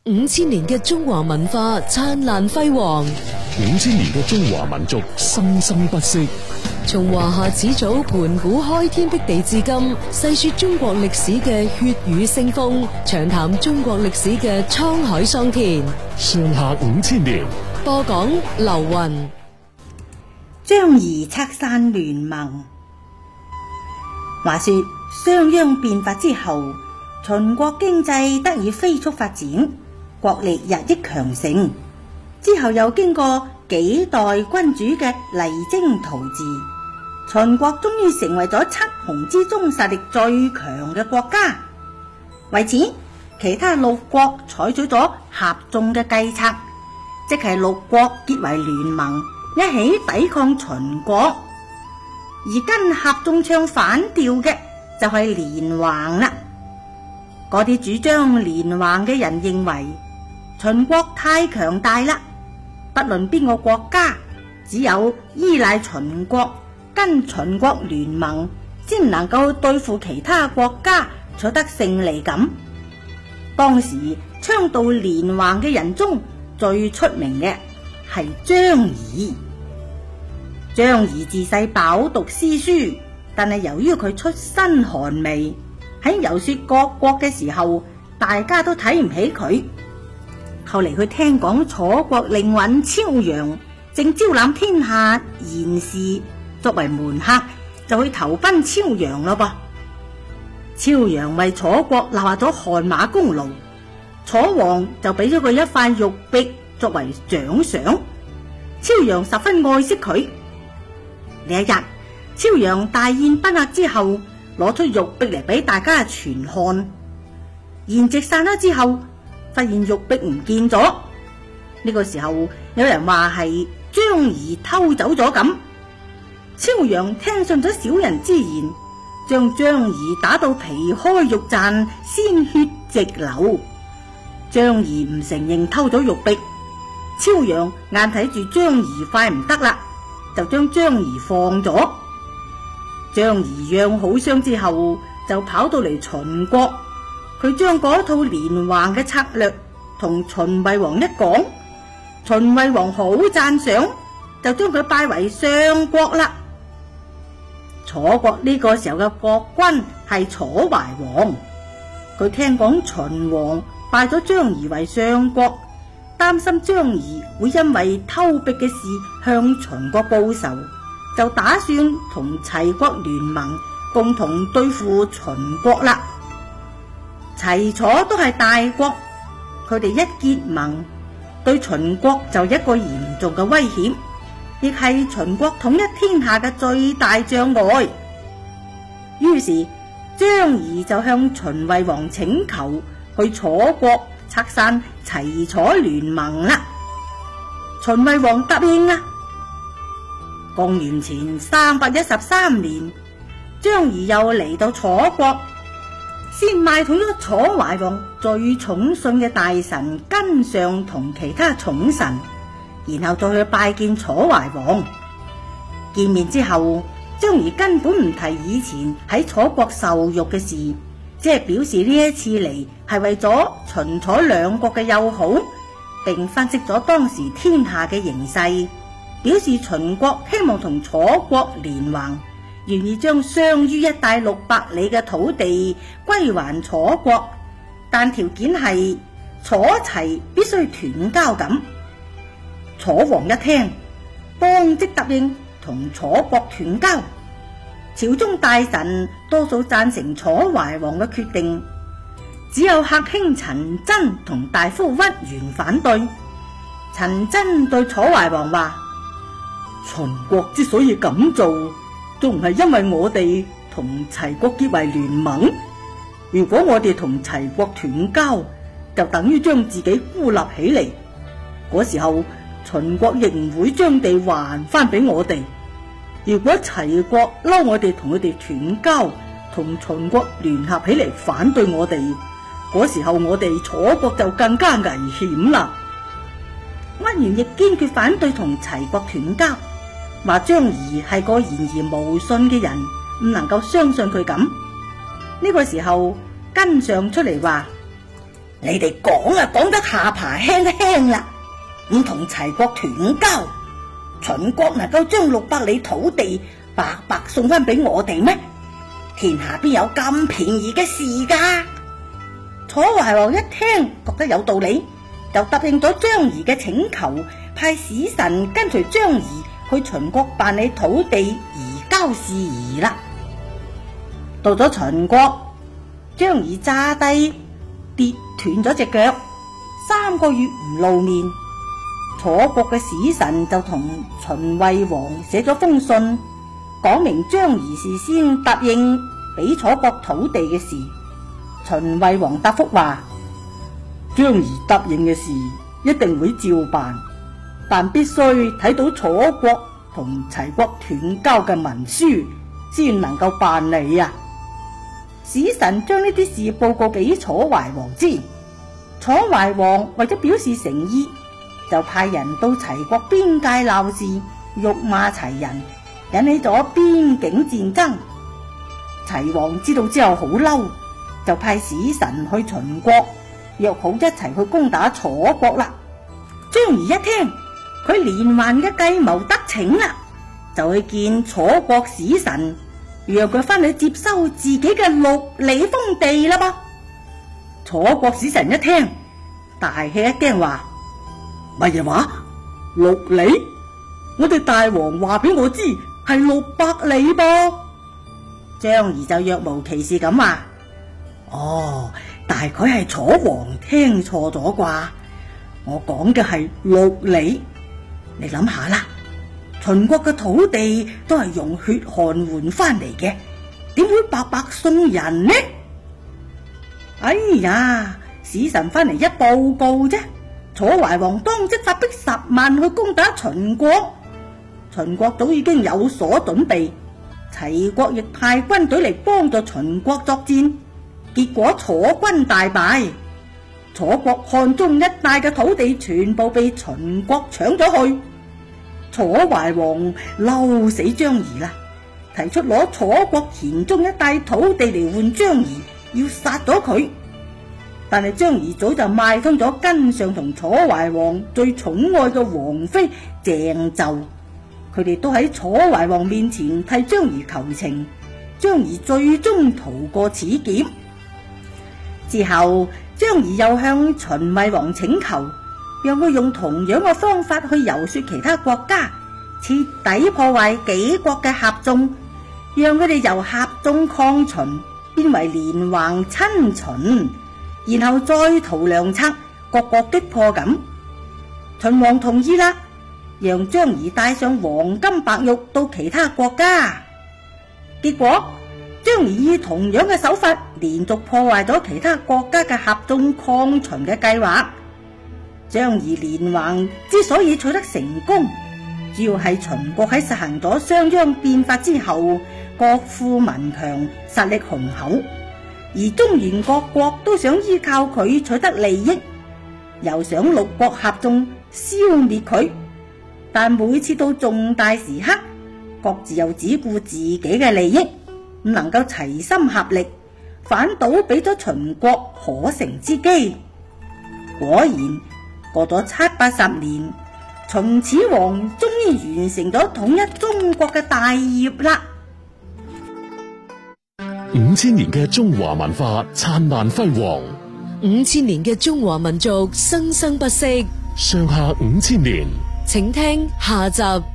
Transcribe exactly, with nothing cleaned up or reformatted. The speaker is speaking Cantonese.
五千年嘅中華文化燦爛輝煌， 五千年嘅中華民族生生不息。 從華夏始祖盤古開天闢地至今，細說中國歷史嘅血雨腥風，長談中國歷史嘅滄海桑田。 上下五千年， 播講劉雲。 張儀拆散聯盟。話說商鞅變法之後，秦國經濟得以飛速發展，國力日益強盛。之後又經過幾代君主嘅勵精圖治，秦國終於成為咗七雄之中實力最強嘅國家。為此，其他六國採取咗合縱嘅計策，即係六國結為聯盟，一起抵抗秦國。而跟合縱唱反調嘅就係連橫啦。嗰啲主張連橫嘅人認為秦國太強大啦，不論邊個國家，只有依賴秦國，跟秦國聯盟，先能夠對付其他國家，取得勝利感。當時倡導連橫嘅人中最出名嘅係張儀。張儀自細飽讀詩書，但係由於佢出身寒微，喺遊說各國嘅時候，大家都睇唔起佢。後嚟佢聽講楚國令尹超陽正招攬天下賢士作為門客，就去投奔超陽咯噃。超陽為楚國立下咗汗馬功勞，楚王就俾咗佢一塊玉璧作為獎賞。超陽十分愛惜佢。呢一日，超陽大宴賓客之後，攞出玉璧嚟俾大家全看。筵席散咗之後，發現玉璧唔見咗。呢、這個時候，有人話係張儀偷走咗咁。超陽聽信咗小人之言，將張儀打到皮開肉綻，鮮血直流。張儀唔承認偷咗玉璧，超陽眼睇住張儀快唔得啦，就將張儀放咗。張儀養好傷之後，就跑到嚟秦國。佢將嗰套連橫嘅策略同秦惠王一講，秦惠王好讚賞，就將佢拜為相國啦。楚國呢個時候嘅國君係楚懷王，佢聽講秦王拜咗張儀為相國，擔心張儀會因為偷璧嘅事向秦國報仇，就打算同齊國聯盟，共同對付秦國啦。齊楚都係大國，佢哋一結盟，對秦國就一個嚴重嘅威脅，亦係秦國統一天下嘅最大障礙。於是張儀就向秦惠王請求去楚國拆散齊楚聯盟啦。秦惠王答應啦。公元前三百一十三年，張儀又嚟到楚國，先買通咗楚懷王最寵信嘅大臣根相同其他寵臣，然後再去拜見楚懷王。見面之後，張儀根本唔提以前喺楚國受辱嘅事，即係表示呢一次嚟係為咗秦楚兩國嘅友好，並分析咗當時天下嘅形勢，表示秦國希望同楚國聯盟，願意將相於一帶六百里嘅土地歸還楚國，但條件係楚齊必須斷交咁。楚王一聽，當即答應同楚國斷交。朝中大臣多數贊成楚懷王嘅決定，只有客卿陳真同大夫屈原反對。陳真對楚懷王話：秦國之所以咁做，仲唔係因為我哋同齊國結為聯盟？如果我哋同齊國斷交，就等於將自己孤立起嚟。嗰時候秦國亦唔會將地還翻俾我哋。如果齊國嬲我哋同佢哋斷交，同秦國聯合起嚟反對我哋，嗰時候我哋楚國就更加危險啦。屈原亦堅決反對同齊國斷交，話張儀係個言而無信嘅人，唔能夠相信佢咁。呢個時候，根相出嚟話： 你哋講啊講得下巴輕一輕啦，唔同齊國斷交，秦國能夠將六百里土地白白送翻俾我哋咩？天下邊有咁便宜嘅事噶？楚懷王一聽覺得有道理，就答應咗張儀嘅請求，派使臣跟隨張儀去秦國辦理土地移交事宜啦。到咗秦國，張儀詐低跌斷咗隻腳，三個月唔露面。楚國嘅使臣就同秦惠王寫咗封信，講明張儀事先答應俾楚國土地嘅事。秦惠王答覆話：張儀答應嘅事一定會照辦，但必須睇到楚國同齊國斷交嘅文書先能夠辦理啊！使臣將呢啲事報告俾楚懷王知，楚懷王為咗表示誠意，就派人到齊國邊界鬧事，辱罵齊人，引起咗邊境戰爭。齊王知道之後好嬲，就派使臣去秦國，約好一齊去攻打楚國啦。張儀一聽佢連環嘅計謀得逞啦，就去見楚國使臣，讓佢翻去接收自己嘅六里封地啦噃。楚國使臣一聽大吃一驚，話乜嘢話？六里？我哋大王話俾我知係六百里噃。張儀就若無其事咁話：哦，大概係楚王聽錯咗啩，我講嘅係六里。你諗下啦，秦國嘅土地都係用血汗換翻嚟嘅，點會白白送人呢？哎呀，使臣翻嚟一報告啫，楚懷王當即發兵十萬去攻打秦國，秦國早已經有所準備，齊國亦派軍隊嚟幫助秦國作戰，結果楚軍大敗，楚國漢中一帶嘅土地全部被秦國搶咗去。楚懷王嬲死張儀啦，提出攞楚國黔中一帶土地嚟換張儀，要殺咗佢。但係張儀早就賣通咗根上同楚懷王最寵愛嘅王妃鄭紂，佢哋都喺楚懷王面前替張儀求情，張儀最終逃過此劫。之後張儀又向秦惠王請求，讓佢用同樣嘅方法去遊說其他國家，徹底破壞幾國嘅合縱，讓佢哋由合縱抗秦變為連橫親秦，然後再圖良策，各國擊破咁。秦王同意啦，讓張儀帶上黃金白玉到其他國家。結果張儀以同樣嘅手法，連續破壞咗其他國家嘅合縱抗秦嘅計劃。張儀連橫之所以取得成功，主要係秦國喺實行咗商鞅變法之後，國富民強，實力雄厚，而中原各國都想依靠佢取得利益，又想六國合縱消滅佢，但每次到重大時刻，各自又只顧自己嘅利益，唔能夠齊心合力，反倒俾咗秦國可乘之機。果然過咗七八十年，秦始皇終於完成咗統一中國嘅大業啦。 五千年嘅中華文化燦爛輝煌， 五千年嘅中華民族生生不息。 上下五千年， 請聽下集。